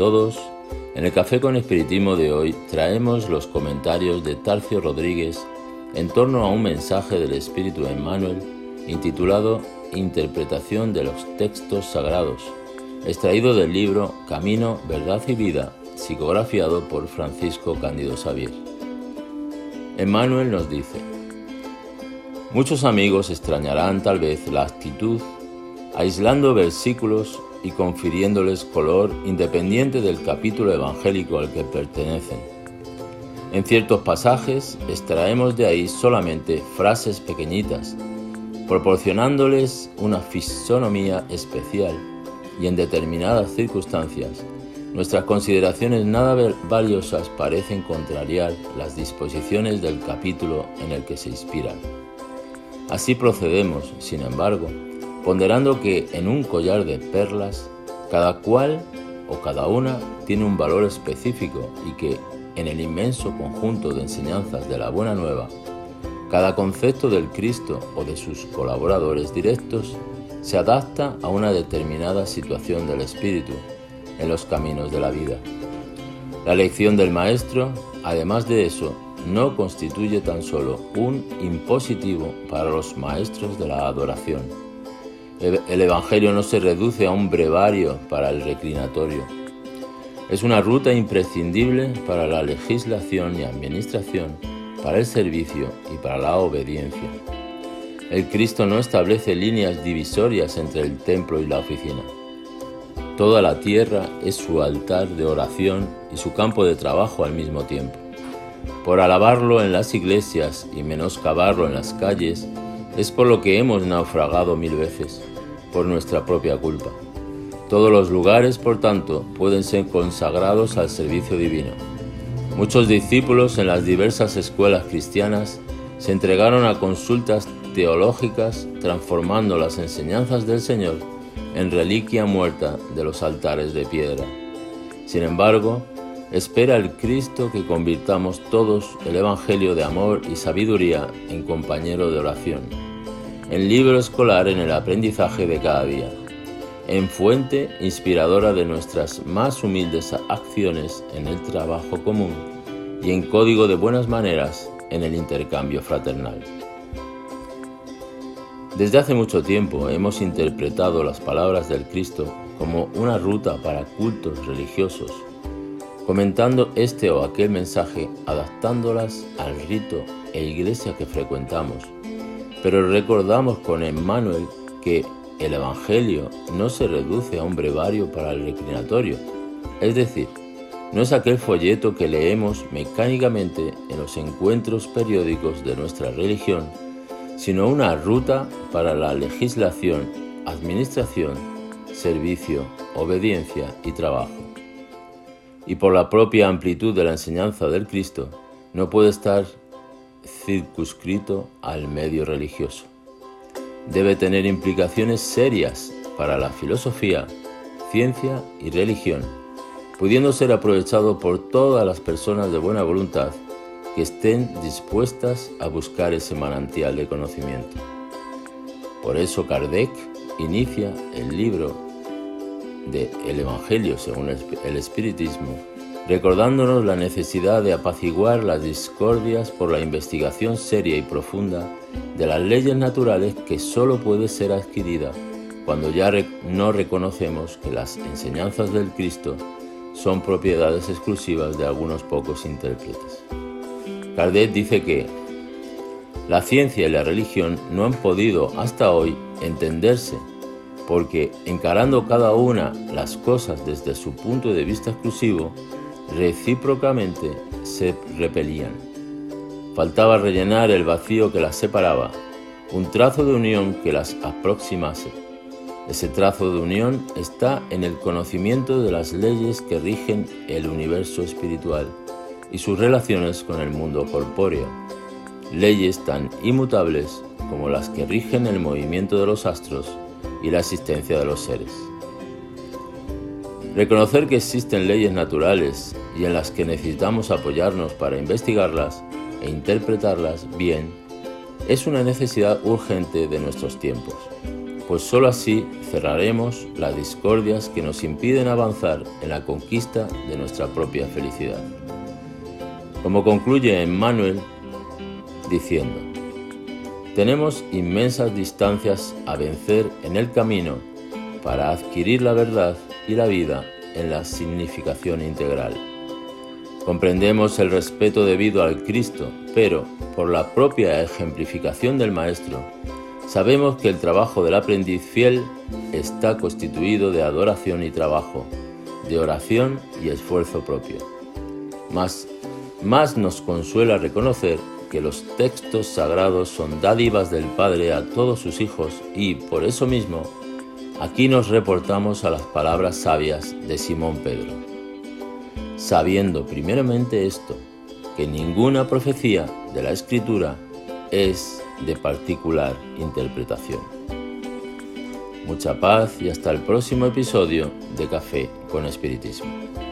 todos. En el Café con Espiritismo de hoy traemos los comentarios de Tarcio Rodríguez en torno a un mensaje del Espíritu Emmanuel intitulado Interpretación de los textos sagrados, extraído del libro Camino, Verdad y Vida, psicografiado por Francisco Cándido Xavier. Emmanuel nos dice: muchos amigos extrañarán tal vez la actitud, aislando versículos y confiriéndoles color independiente del capítulo evangélico al que pertenecen. En ciertos pasajes extraemos de ahí solamente frases pequeñitas, proporcionándoles una fisonomía especial, y en determinadas circunstancias nuestras consideraciones nada valiosas parecen contrariar las disposiciones del capítulo en el que se inspiran. Así procedemos, sin embargo, ponderando que en un collar de perlas, cada cual o cada una tiene un valor específico y que en el inmenso conjunto de enseñanzas de la Buena Nueva, cada concepto del Cristo o de sus colaboradores directos se adapta a una determinada situación del espíritu en los caminos de la vida. La lección del Maestro, además de eso, no constituye tan solo un impositivo para los maestros de la adoración. El Evangelio no se reduce a un brevario para el reclinatorio. Es una ruta imprescindible para la legislación y administración, para el servicio y para la obediencia. El Cristo no establece líneas divisorias entre el templo y la oficina. Toda la tierra es su altar de oración y su campo de trabajo al mismo tiempo. Por alabarlo en las iglesias y menoscabarlo en las calles, es por lo que hemos naufragado 1000 veces, por nuestra propia culpa. Todos los lugares, por tanto, pueden ser consagrados al servicio divino. Muchos discípulos en las diversas escuelas cristianas se entregaron a consultas teológicas, transformando las enseñanzas del Señor en reliquia muerta de los altares de piedra. Sin embargo, espera el Cristo que convirtamos todos el Evangelio de amor y sabiduría en compañero de oración, en libro escolar en el aprendizaje de cada día, en fuente inspiradora de nuestras más humildes acciones en el trabajo común y en código de buenas maneras en el intercambio fraternal. Desde hace mucho tiempo hemos interpretado las palabras del Cristo como una ruta para cultos religiosos, comentando este o aquel mensaje, adaptándolas al rito e iglesia que frecuentamos. Pero recordamos con Emmanuel que el Evangelio no se reduce a un brevario para el reclinatorio, es decir, no es aquel folleto que leemos mecánicamente en los encuentros periódicos de nuestra religión, sino una ruta para la legislación, administración, servicio, obediencia y trabajo. Y por la propia amplitud de la enseñanza del Cristo, no puede estar circunscrito al medio religioso. Debe tener implicaciones serias para la filosofía, ciencia y religión, pudiendo ser aprovechado por todas las personas de buena voluntad que estén dispuestas a buscar ese manantial de conocimiento. Por eso Kardec inicia el libro de El Evangelio según el Espiritismo, recordándonos la necesidad de apaciguar las discordias por la investigación seria y profunda de las leyes naturales que sólo puede ser adquirida cuando ya no reconocemos que las enseñanzas del Cristo son propiedades exclusivas de algunos pocos intérpretes. Kardec dice que la ciencia y la religión no han podido hasta hoy entenderse porque, encarando cada una las cosas desde su punto de vista exclusivo, recíprocamente se repelían. Faltaba rellenar el vacío que las separaba, un trazo de unión que las aproximase. Ese trazo de unión está en el conocimiento de las leyes que rigen el universo espiritual y sus relaciones con el mundo corpóreo, leyes tan inmutables como las que rigen el movimiento de los astros y la existencia de los seres. Reconocer que existen leyes naturales y en las que necesitamos apoyarnos para investigarlas e interpretarlas bien es una necesidad urgente de nuestros tiempos, pues sólo así cerraremos las discordias que nos impiden avanzar en la conquista de nuestra propia felicidad. Como concluye Emmanuel diciendo: tenemos inmensas distancias a vencer en el camino para adquirir la verdad y la vida en la significación integral. Comprendemos el respeto debido al Cristo, pero por la propia ejemplificación del Maestro, sabemos que el trabajo del aprendiz fiel está constituido de adoración y trabajo, de oración y esfuerzo propio. Más nos consuela reconocer que los textos sagrados son dádivas del Padre a todos sus hijos y, por eso mismo, aquí nos reportamos a las palabras sabias de Simón Pedro. Sabiendo primeramente esto, que ninguna profecía de la Escritura es de particular interpretación. Mucha paz y hasta el próximo episodio de Café con Espiritismo.